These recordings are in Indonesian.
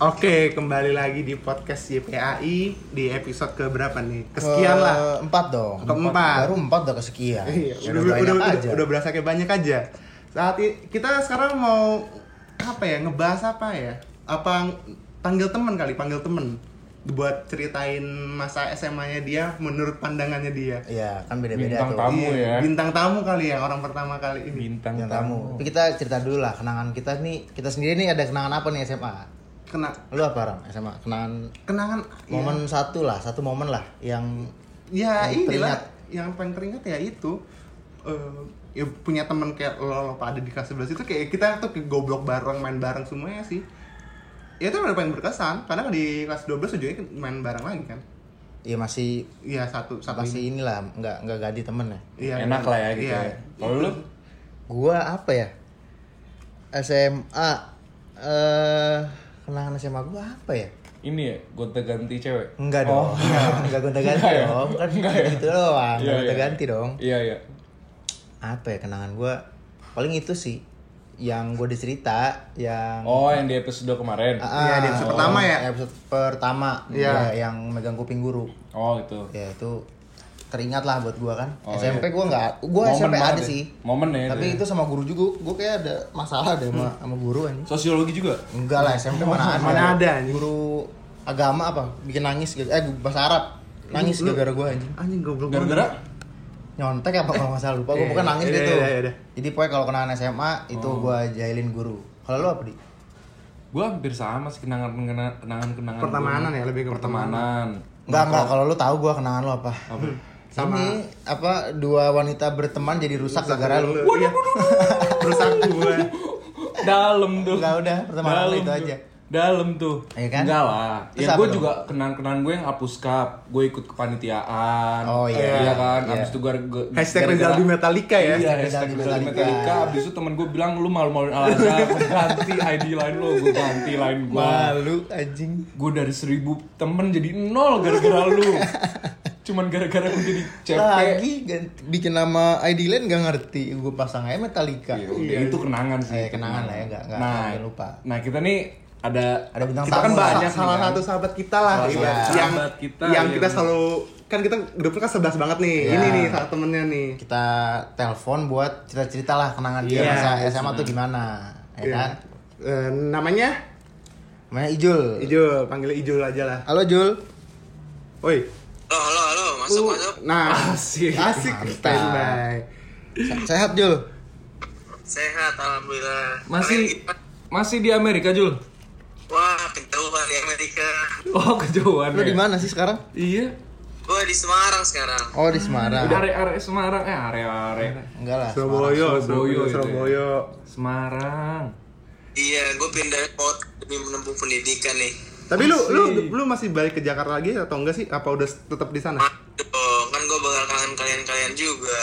Oke, kembali lagi di podcast YPAI di episode ke berapa nih? Kesekian lah. 4 dong. Keempat. Baru 4 udah kesekian. Iya, Udah udah berasa kayak banyak aja. Kita sekarang mau apa ya? Ngebahas apa ya? Apa panggil temen kali, panggil temen buat ceritain masa SMA-nya dia menurut pandangannya dia. Iya, kan beda-beda Bintang tuh. tamu ya. Bintang tamu kali ya, orang pertama kali ini. Bintang Yang tamu. Tapi kita cerita dulu lah kenangan kita nih. Kita sendiri nih ada kenangan apa nih SMA? Kena Lu apa, Ram? SMA? kenangan Momen satu momen lah yang ya yang inilah teringat. yang paling teringat ya itu ya punya teman kayak lo pada di kelas 11 itu kayak kita tuh ke goblok bareng, main bareng semuanya sih. Ya itu udah paling berkesan karena di kelas 12 ujungnya main bareng lagi kan. ya masih Satu masih inilah nggak ganti temen ya. Iya, enak lah ya gitu. iya. Ya. Kalau lu Gua apa ya? SMA kenangan SMA gua apa ya? ini ya gonta-ganti cewek. Enggak dong. Enggak gonta-ganti Enggak ya? dong. Kan Enggak ya? gitu doang. Iya, Enggak gonta-ganti dong. Iya iya. Apa ya kenangan gua? Paling itu sih yang gue dicerita yang Oh, yang di episode kemarin. Iya, di episode pertama ya? Episode pertama. Iya. Ya, yang megang kuping guru. Oh, gitu. Ya itu teringat lah buat gua kan. Oh, SMP iya. gua enggak, gua Momen SMP banget ada ya. sih. Momen ya. Tapi itu sama guru juga. Gua kayak ada masalah deh sama guru anjing. Sosiologi juga. Enggak lah, SMP mana ada. Mana ada, anjing. Guru agama apa? Bikin nangis bahasa Arab. Nangis Lu- gara-gara gua anjing. Anjing goblok. Gara-gara Nyontek apa kalau nggak salah lupa. Gua bukan nangis Iya, gitu. iya. Jadi pokoknya kalau kenangan SMA itu gua jahilin guru. Kalau lu apa, Di? gua hampir sama sih kenangan Pertemanan gua. ya, lebih ke pertemanan. Enggak, kalau lu tahu gua kenangan lu apa? Apa? Sama- Ini apa dua wanita berteman jadi rusak gara-gara lu. Iya. Rusak gua. Dalam tuh. Enggak udah, pertemanan lu itu aja. Dalam tuh. Iya kan? Enggak lah. Terus Ya apa gue dong? juga kenang-kenangan gue yang hapus cup. Gue ikut kepanitiaan. Oh, iya. Iya kan. Iya. Abis itu gue Hashtag Rizal di Metallica ya. Iya, Rizal hashtag di Rizal di Metallica. Metallica. Abis itu temen gue bilang lu malu-maluin Al-Azhar. Gue ganti ID line lo. Gue ganti line gue. Malu anjing. Gue dari 1000 temen jadi 0 gara-gara lu. Cuman gara-gara gue jadi CP. Lagi bikin nama ID Line gak ngerti. Gue pasang aja Metallica. Ya udah, itu kenangan sih. Kenangan lah ya, enggak Nah, lupa. Nah, kita nih ada bintang kita tamu kan lah. banyak Salah nih kan. satu sahabat kita lah Salah iya. satu yang sahabat kita yang yang- kita selalu kan kita grupnya kan 11 banget nih. Iya. Ini nih salah temennya nih. Kita telepon buat cerita-cerita lah kenangan dia Iya, masa SMA tuh gimana. Ya Iya. kan? Namanya Namanya Ijul. Ijul, panggilnya Ijul aja lah. Halo Jul. Woi. Halo, masuk. Nah, Asik. asik standby. Sehat Jul? Sehat, alhamdulillah. Masih Kalian gimana? masih di Amerika, Jul. Wah, kejauhan di Amerika. Oh, kejauhan. Lu ya? di mana sih sekarang? Iya. Gue di Semarang sekarang. Oh, di Semarang. Area Semarang, area Enggak lah. Surabaya, Surabaya gitu ya. Surabaya. Semarang. Iya, gue pindah kota demi menempuh pendidikan nih. Tapi lu masih balik ke Jakarta lagi atau enggak sih? Apa udah tetap di sana? Aduh, kan gue bakal kangen kalian juga.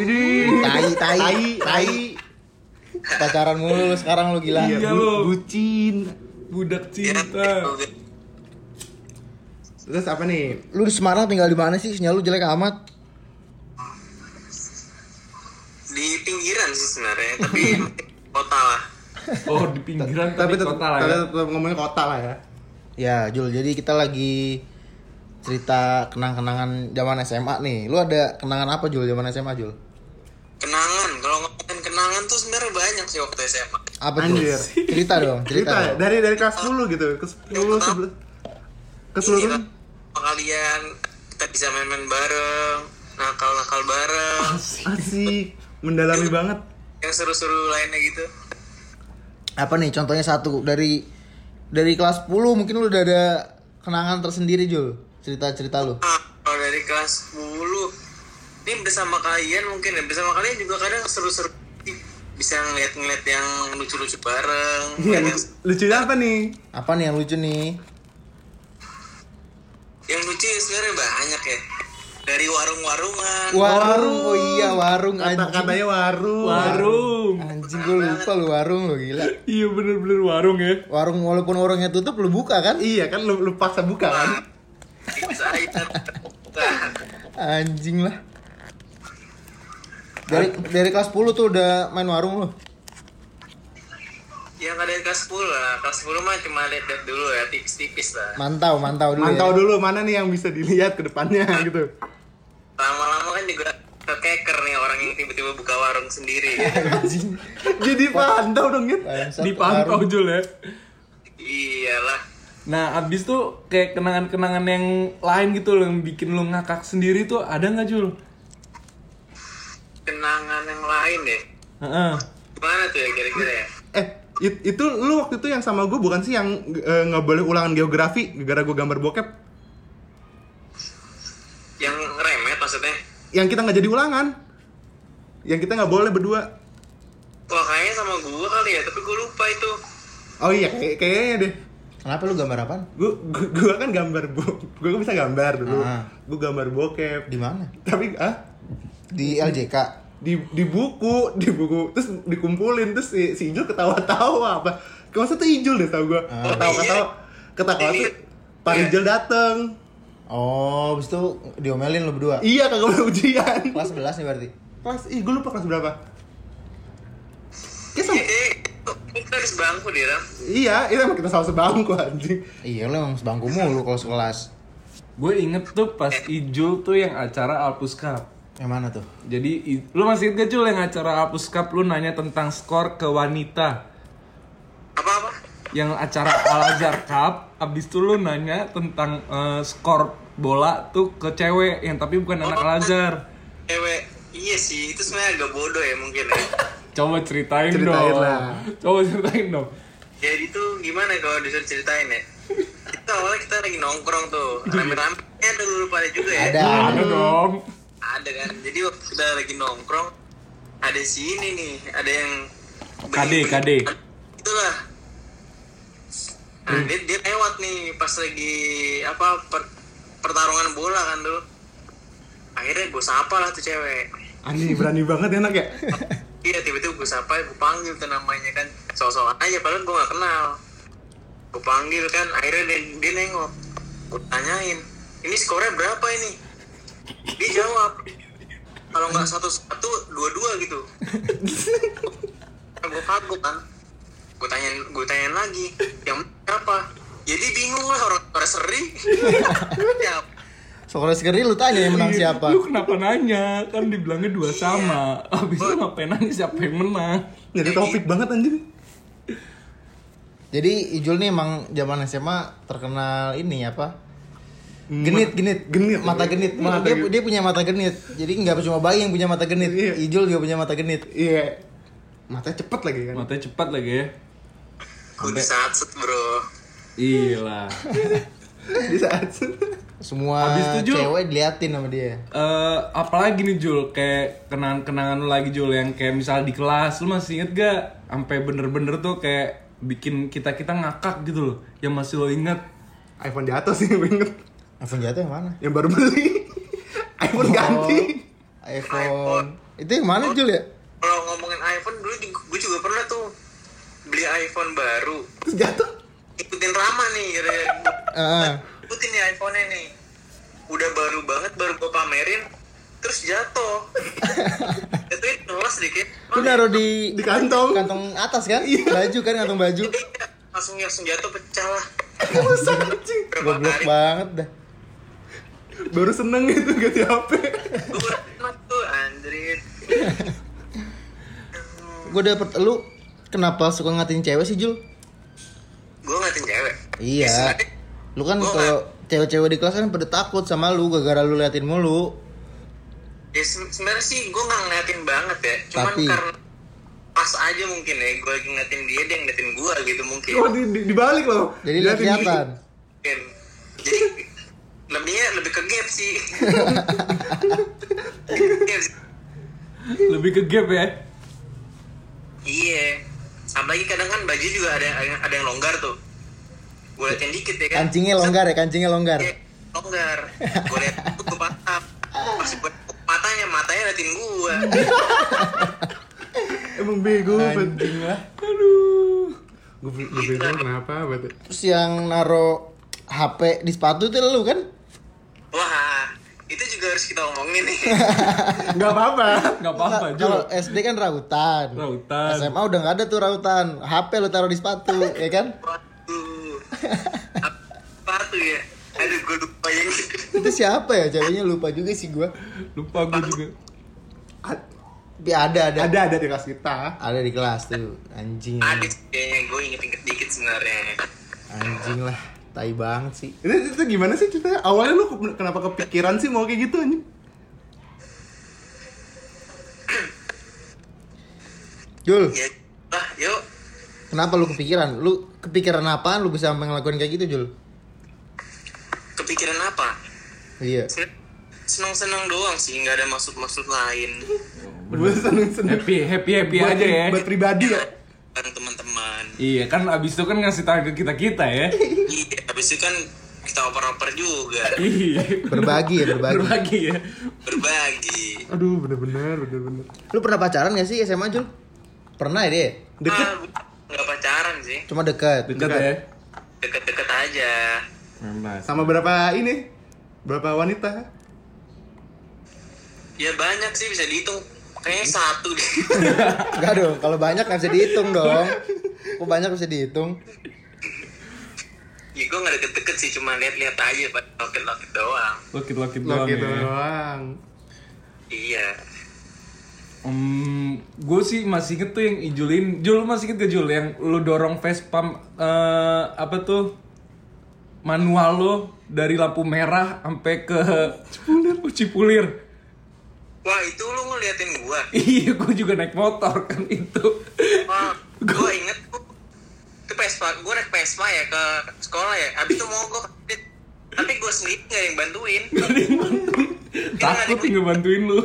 Tai. Pacaran mulu lu sekarang lu gila. Iya, lu. bucin. Budak Ya, cinta. Terus apa nih? Lu di Semarang tinggal di mana sih? Sinyal lu jelek amat. di pinggiran sih sebenarnya, tapi kota lah. Oh, di pinggiran tapi tetap, kota lah ya. tetap ngomongin kota lah ya. Ya, Jul, jadi kita lagi cerita kenang-kenangan zaman SMA nih. Lu ada kenangan apa Jul zaman SMA, Jul? Kenangan, kalau ngomongin kenangan tuh sebenarnya banyak sih waktu SMA. Apa tuh? Anjir. Cerita dong, cerita. Cerita dong. dari kelas 10 gitu ke 10 ke Ini seluruh lah, sama kalian kita bisa main-main bareng, nakal-nakal bareng, asik, mendalami banget. yang seru-seru lainnya gitu. Apa nih contohnya satu dari kelas 10 mungkin lu udah ada kenangan tersendiri, Jul. Cerita-cerita lu. Kalau dari kelas 10 ini bersama kalian mungkin ya, bersama kalian juga kadang seru-seru, bisa ngeliat-ngeliat yang lucu-lucu bareng. Iya, yang, lucunya apa nih? Apa nih yang lucu nih? yang lucu ya sebenarnya banyak ya, dari warung-warungan. Warung, oh iya warung anjing. Katanya warung. Warung. Anjing gue lupa lu warung lu gila. Iya bener-bener warung ya. Warung walaupun warungnya tutup lu buka kan? Iya kan lu paksa buka kan? Bisa aja. Anjing lah. Dari kelas 10 tuh udah main warung lu. Ya yang ada di kelas 10 lah. Kelas 10 mah cuma lihat dulu ya, tipis-tipis lah. Mantau dulu. Mantau ya. dulu mana nih yang bisa dilihat ke depannya gitu. Lama-lama kan juga keker nih orang yang tiba-tiba buka warung sendiri. Jadi pantau dong gitu. Bangsat, Dipantau warung. Jul ya. Iyalah. Nah, abis tuh kayak kenangan-kenangan yang lain gitu loh, yang bikin lo ngakak sendiri tuh ada nggak Jul? Kenangan yang lain deh. Heeh. Gimana tuh ya kira-kira ya? Itu lu waktu itu yang sama gue bukan sih yang nggak boleh ulangan geografi gara-gara gue gambar bokep? Yang remet maksudnya? Yang kita nggak jadi ulangan, yang kita nggak boleh berdua. Wah kayaknya sama gua kali ya, tapi gua lupa itu. Oh iya, kayaknya deh. Kenapa lu gambar apaan? Gue kan gambar gue bisa gambar dulu. Ah. Gue gambar bokep. Di mana? Tapi Di LJK. di buku terus dikumpulin terus si Ijul ketawa-tawa apa? Maksudnya tuh Ijul deh tau gue. Ketawa tuh Pak Ijul dateng. Oh, habis itu diomelin lu berdua. Iya kagak boleh ujian. Kelas 11 nih berarti. Gue lupa kelas berapa. Kayak sama. Kita harus bangku deh, Ram. Iya, itu emang kita sama sebangku anjing. Iya, lu emang sebangku mulu kalau sekelas. Gue inget tuh pas Ijul tuh yang acara Alpus Cup. Yang mana tuh? Jadi lu masih inget gak Jul yang acara Alpus Cup lu nanya tentang skor ke wanita? Apa? Yang acara Al-Azhar Cup, abis itu lu nanya tentang skor bola tuh ke cewek yang tapi bukan anak Al-Azhar. Cewek. Iya sih, itu sebenarnya agak bodoh ya mungkin ya. Coba ceritain Ceritain dong. lah. Coba ceritain dong. Jadi tuh gimana kalau disuruh ceritain ya? Itu awalnya kita lagi nongkrong tuh, rame-rame ada dulu pada juga ya. Ada. Ada dong. Ada kan. Jadi waktu kita lagi nongkrong, ada si ini nih, ada yang KD. Itulah. Nah, dia lewat nih pas lagi pertarungan bola kan tuh. Akhirnya gue sapa lah tuh cewek. Anjing berani banget enak ya. Iya tiba-tiba gue sapa, gue panggil tuh namanya kan, sok-sokan aja padahal gue gak kenal. Gue panggil kan, akhirnya dia nengok. Gue tanyain, ini skornya berapa ini? Dia jawab, kalau nggak 1-1, 2-2 gitu. Gue kagok kan, gue tanyain lagi, yang berapa? Jadi bingung lah orang seri. Ya, Soalnya sekali lu tanya yang menang siapa? Lu kenapa nanya? Kan dibilangnya 2 sama. Abis itu ngapain nanya siapa yang menang? Jadi topik banget anjing. Jadi Ijul nih emang zaman SMA terkenal ini apa? Genit. Mata genit. Dia punya mata genit. Jadi nggak cuma bayi yang punya mata genit. Iya. Ijul juga punya mata genit. Iya. Matanya cepet lagi kan. Matanya cepat lagi ya. gue disatset bro. Iya. Di saat Semua Habis itu, Jul, cewek diliatin sama dia. apalagi nih Jul, kayak kenangan-kenangan lu lagi Jul, yang kayak misal di kelas lu masih inget gak? Sampai bener-bener tuh kayak bikin kita ngakak gitu loh, yang masih lo inget. iPhone jatuh sih gue inget. iPhone jatuh yang mana? Yang baru beli. iPhone ganti. iPhone. Itu yang mana Jul ya? Kalau ngomongin iPhone dulu gue juga pernah tuh beli iPhone baru. Terus jatuh. Ikutin Rama nih, ikutin nih iPhone-nya nih. Udah baru banget, baru gue pamerin, terus jatuh. Jatuhnya kelas dikit. Lu naruh di kantong. kantong atas kan? Baju kan, kantong baju. Langsung jatuh pecah lah. Masa anjing. Berapa Goblok kali banget dah. Baru seneng gitu ganti HP. gue enak tuh anjrit. Gue dapet lu kenapa suka ngatin cewek sih Jul? Gue ngatin cewek. Iya. Sebenarnya Lu kan Gua kalau cewek-cewek di kelas kan pada takut sama lu gara-gara lu liatin mulu. ya sebenarnya sih gue nggak ngeliatin banget ya. Cuman Tapi karena pas aja mungkin ya, gue lagi ngeliatin dia ngeliatin gue gitu mungkin. Oh dibalik loh. jadi lihat kelihatan. Mungkin. Jadi lebih ke gap sih. Gap sih. Lebih ke gap ya. Iya. Apalagi kadang kan baju juga ada yang longgar tuh. Gue liatin dikit ya kan. Kancingnya longgar ya, kancingnya longgar. Iya, longgar. Gue liat tuh gue patah. Pas gue matanya liatin gue. Emang bego banget. Anjing lah. Aduh. Gue bego kenapa banget. Terus yang naro HP di sepatu itu lu kan? Wah, itu juga harus kita omongin nih. Nggak apa-apa. Nggak apa-apa, Jul. Kalau SD kan rautan. Rautan. SMA udah nggak ada tuh rautan. HP lu taruh di sepatu, ya kan? Waduh. Apa tuh ya? Aduh, gue lupa yang gitu. Itu siapa ya? Ceweknya lupa juga sih gua. Lupa gue juga. Tapi ada. Ada di kelas kita. Ada di kelas tuh. Anjing. Ada sih kayaknya, gue inget-inget dikit sebenarnya. Anjing lah. Tai banget sih. Itu gimana sih ceritanya? Awalnya lu kenapa kepikiran sih mau kayak gitu anjing? Jul, Ya, lah, yuk. kenapa lu kepikiran? Lu kepikiran apaan lu bisa sampai ngelakuin kayak gitu, Jul? Kepikiran apa? Iya. Senang-senang doang sih, nggak ada maksud-maksud lain. Gue seneng-seneng. Happy Buat aja ya. Buat pribadi ya. Bareng teman-teman. Iya kan abis itu kan ngasih tahu ke kita ya. Iya, habis itu kan kita oper-oper juga. Iya. Berbagi ya, berbagi. Berbagi ya. Berbagi. Aduh, bener-bener. Lu pernah pacaran gak sih SMA, Jul? Pernah ya, dia? Deket. Nggak pacaran sih. Cuma dekat. Dekat ya. Deket-deket aja. Sama berapa ini? Berapa wanita? Ya banyak sih, bisa dihitung. Kayaknya satu deh. Enggak dong, kalau banyak gak bisa dihitung dong. Kok banyak bisa dihitung? Ya gue nggak deket-deket sih, cuma lihat-lihat aja, Pak. Lokit-lokit doang. Lokit doang Gitu ya. doang. Iya. Gue sih masih inget tuh yang Ijulin. Jul masih inget gak Jul yang lu dorong Vespa apa tuh manual lo dari lampu merah sampai ke Cipulir. Wah, itu lu ngeliatin gua. Iya, gue juga naik motor kan itu. Wah, gua inget tuh. Itu Vespa, gua naik Vespa ya ke sekolah ya. Abis itu mau gua tapi gua sendiri nggak yang bantuin. Takut nggak bantuin lu.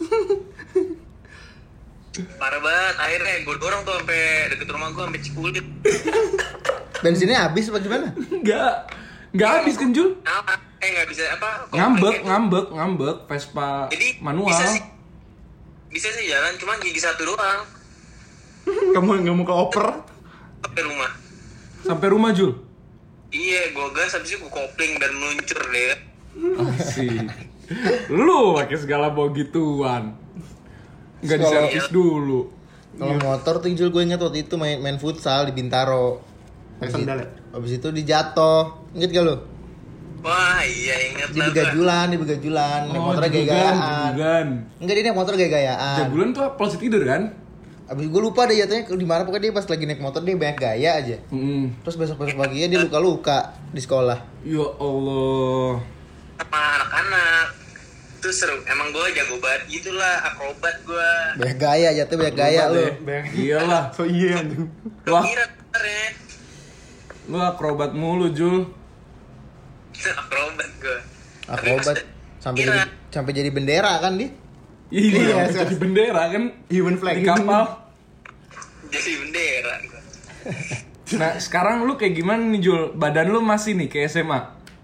Parah banget. Akhirnya gua dorong tuh sampai deket rumah gua sampai Cipulir. Bensinnya habis apa gimana? Nggak habis kan Jul? Nah, nggak bisa apa? Ngambek Vespa Jadi manual. bisa sih jalan, cuma gigi satu doang Kamu nggak mau ke oper? sampai rumah. Sampai rumah Jul. Iya, gua gas habis itu gua kopling dan meluncur deh. Asik. Lu pakai segala bawa gituan. Nggak Kalau- diservis dulu. Kalau motor tuh Jul, gue inget waktu itu main futsal di Bintaro. Pakai sandal ya? Habis itu dijatuh. Inget gak lu? Wah, iya inget Di begajulan. Naik motornya gaya-gayaan. Jagulan. Enggak, dia naik motor gaya-gayaan. Jagulan tuh polisi tidur kan? Abis gue lupa deh jatuhnya di mana, pokoknya dia pas lagi naik motor dia banyak gaya aja. Terus besok paginya dia luka-luka di sekolah. Ya Allah. sama anak-anak. Itu seru. Emang gue jago banget gitulah, akrobat gue. Banyak gaya jatuh, banyak gaya lu. Iyalah. So iya anjing. Wah, Kira sebenarnya lu akrobat mulu Jul. akrobat gue. Akrobat sampai jadi bendera kan dia. Iya, Iya, jadi bendera kan Human flag. di kapal. Jadi bendera gue. Nah, sekarang lu kayak gimana nih Jul? Badan lu masih nih kayak SMA?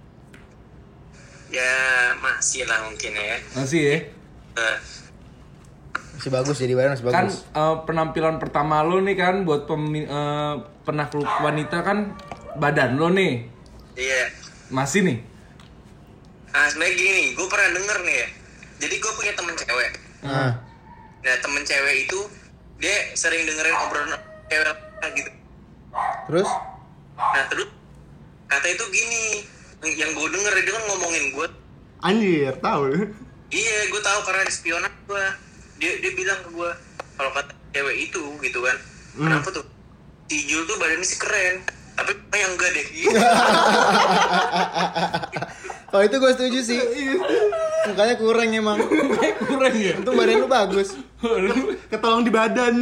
Ya masih lah mungkin ya. Masih ya? Eh, Masih bagus, jadi badan masih Kan bagus. penampilan pertama lu nih kan buat penakluk wanita kan badan lu nih. Iya. Masih nih? Nah sebenarnya gini nih, gue pernah denger nih ya. Jadi gue punya temen cewek. Nah, Nah temen cewek itu dia sering dengerin obrolan cewek gitu. terus Nah terus kata itu gini, yang gue denger dia kan ngomongin gue. Anjir, tahu. Iya, gue tahu karena di spionat gue. Dia bilang ke gue kalau kata cewek itu gitu kan. Kenapa tuh? Si Jul tuh badannya sih keren, tapi yang enggak deh. kalau itu gue setuju sih. Mukanya kurang emang. Kurang ya? Untung badan lu bagus. Ketolong di badan.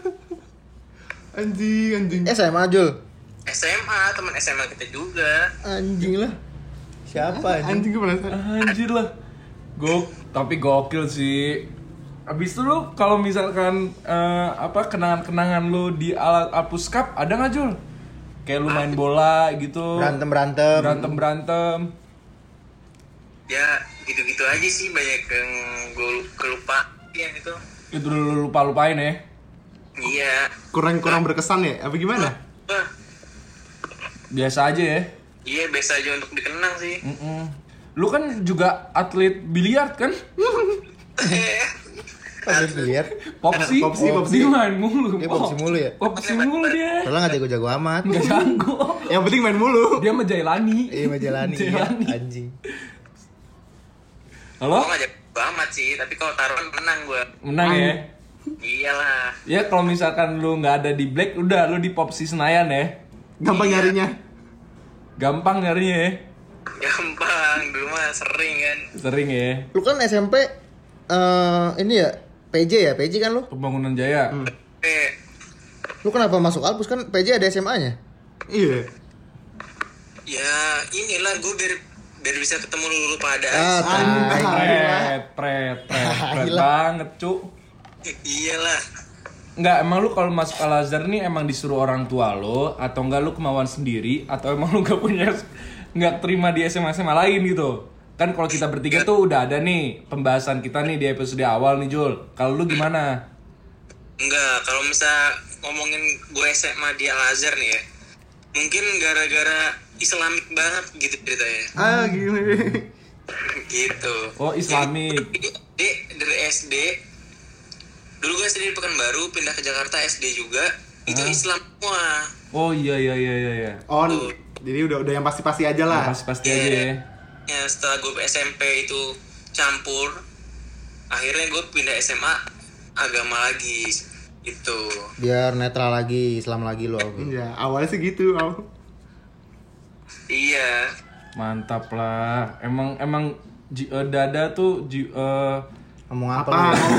Anjing. SMA Jul. SMA, teman SMA kita juga. Anjing lah. Siapa anjing? Anjing gue penasaran. Anjir lah. Tapi gokil sih. Abis itu lu kalau misalkan kenangan-kenangan lu di alat Apus Cup ada nggak Jul? Kayak lu main bola gitu. Berantem. Ya gitu-gitu aja sih, banyak yang gue kelupa yang itu. Itu lu lupa-lupain ya. Iya. Kurang berkesan ya? Apa gimana? Wah, Biasa aja ya. iya biasa aja untuk dikenang sih. Lu kan juga atlet biliar kan? Atlet biliar. Popsi. Dia main mulu. Dia popsi mulu ya? Popsi mulu dia. Soalnya nggak jago-jago amat. Nggak jago. Yang penting main mulu. Dia sama Jailani. Iya Majalani ya, Jailani. anjing. Halo? Gue gak jago amat sih, tapi kalau taruhan menang gue. Menang ya? Iyalah. Ya kalau misalkan lu nggak ada di Black, udah lu di Popsi Senayan ya. Gampang nyarinya. Gampang nyarinya ya. Gampang, dulu mah sering kan. Sering ya. Lu kan SMP ini ya PJ ya? PJ kan lu? Pembangunan Jaya. Lu kenapa masuk Alpus kan PJ ada SMA-nya? Iya. Ya inilah gue biar bisa ketemu lu pada. Pret banget, Cuk. Iyalah. Enggak, emang lu kalau masuk Al Azhar nih emang disuruh orang tua lo atau enggak lu kemauan sendiri atau emang lu nggak terima di SMA lain gitu? Kan kalau kita bertiga tuh udah ada nih pembahasan kita nih di episode awal nih Jul. Kalau lu gimana? Enggak, kalau misal ngomongin gue SMA di Al Azhar nih ya, mungkin gara-gara Islamik banget gitu ceritanya. Gila. Gitu. Oh, Islamik. Jadi dari SD, dulu gue SD di Pekanbaru, pindah ke Jakarta SD juga, itu Islam semua. Oh iya. On. Jadi udah yang pasti-pasti aja lah. Pasti aja ya. Ya setelah gue SMP itu campur, akhirnya gue pindah SMA agama lagi gitu. Biar netral lagi, Islam lagi lu. Iya, awalnya sih gitu. Iya. Mantap lah. Emang dada tuh Ngomong apa?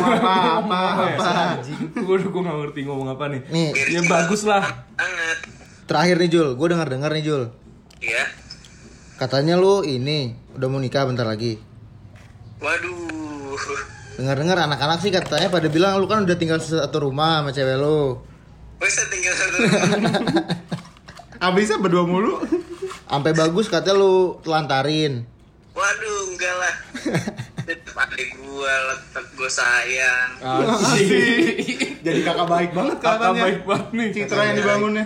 Apa? Gue nggak ngerti ngomong apa nih. Nih, Ya bagus lah. Banget. terakhir nih Jul, gue dengar nih Jul. Iya. Katanya lu ini udah mau nikah bentar lagi. Waduh. Dengar anak-anak sih katanya pada bilang lu kan udah tinggal satu rumah sama cewek lu. Bisa tinggal satu. Abisnya berdua mulu. Sampai bagus katanya lu telantarin. Waduh, enggak lah. Tetep adik gua, tetep gua sayang. Asik. Jadi kakak baik banget Kakak katanya. baik banget nih. Citra yang dibangunnya.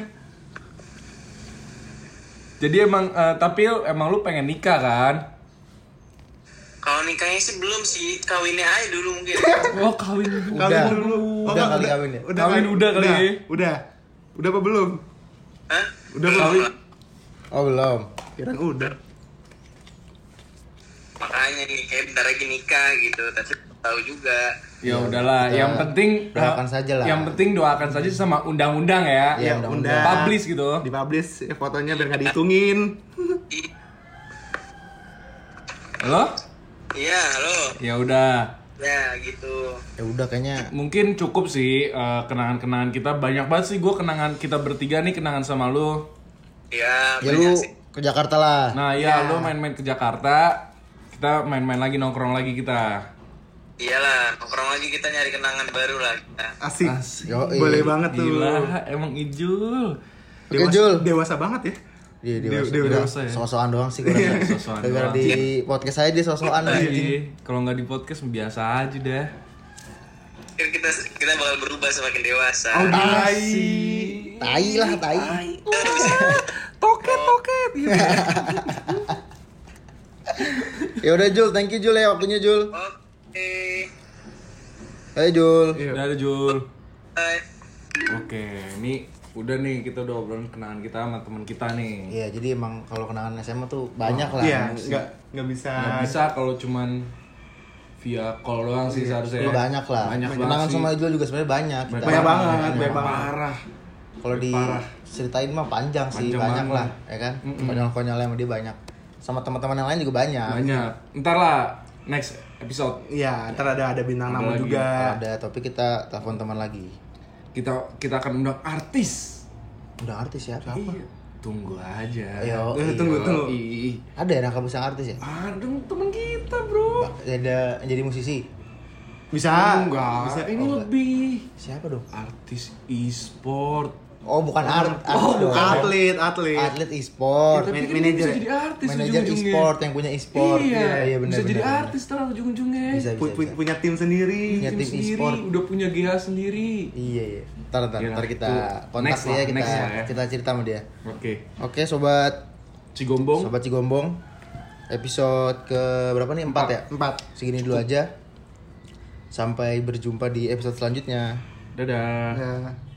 Jadi tapi emang lu pengen nikah kan? Kalau nikahnya sih belum sih, kawinnya aja dulu mungkin. Oh kawin. Udah. dulu. Udah kali kawin ya? Kawin udah kali ya? Udah apa belum? Hah? Udah belum? Oh belum. Kirain udah. Makanya nih, kayak bentar lagi nikah gitu, tapi tahu juga. Ya udahlah, yang penting doakan saja lah. Yang penting doakan saja sama undang-undang ya. Iya, undang-undang. Publish gitu. Dipublish ya, fotonya biar nggak dihitungin. Halo? Iya, halo. Ya udah. Ya, gitu. Ya udah kayaknya Mungkin cukup sih kenangan-kenangan kita. Banyak banget sih gue kenangan kita bertiga nih, kenangan sama lu. Ya, ya banyak lu sih. ke Jakarta lah. Nah ya, lu main-main ke Jakarta. Kita main-main lagi, nongkrong lagi kita. Iyalah, nongkrong lagi kita nyari kenangan baru lah kita. Asik. Yoi. Boleh banget tuh. Gila, emang Ijul. Oke, Jul. Dewasa banget ya. Iya, dewasa ya. So-soan doang sih gue rasa. So-soan Gara-gara doang. di podcast saya dia so-soan anjing. Iya, kalau nggak di podcast biasa aja dah. Kan kita bakal berubah semakin dewasa. Oh, Tai lah, tai. Toket. Ya udah Jul, thank you Jul ya waktunya Jul. Oke. Hai Jul. Udah ada Jul. Bye. Oke, ini udah nih kita udah obrolan kenangan kita sama teman kita nih. Iya, jadi emang kalau kenangan SMA tuh banyak lah. Iya, nggak bisa. Nggak bisa kalau cuman via call doang sih seharusnya. Lu banyak lah. Banyak kenangan banget sih. sama Jul juga sebenarnya banyak. Kita- Banyak banget, banyak banyak banget. Parah. Kalau di ceritain mah panjang sih, Panjang banyak banget. lah, ya kan? Konyol-konyol sama dia banyak. Sama teman-teman yang lain juga banyak. Banyak. Ntar lah next episode Iya, ntar ada bintang Ada tamu lagi. juga. Ada topik kita telepon teman lagi. kita akan undang artis. Udah artis ya? Siapa? Iya. Tunggu aja. Ayo, Tunggu. Ih. ada yang bisa artis ya? Ada temen kita bro. Ada yang jadi musisi. Bisa. Enggak. Bisa. Ini lebih Siapa dong? artis e-sport. Oh, bukan artis dong. Atlet. Atlet e-sport. Tapi kan manajer. bisa jadi artis Manajer ujung-ujungnya. e-sport yang punya e-sport. Iya, benar. bisa jadi benar. artis terus ujung-ujungnya. Bisa. Punya tim sendiri. Punya tim sendiri, e-sport. udah punya GH sendiri. Iya. Ntar Gila, kita tuh. kontak Next dia, lah, next lah ya. kita cerita sama dia. Oke. Oke, sobat Cigombong. Cigombong. episode ke berapa nih? 4 ya? 4. Segini dulu aja. Sampai berjumpa di episode selanjutnya. Dadah. Ya.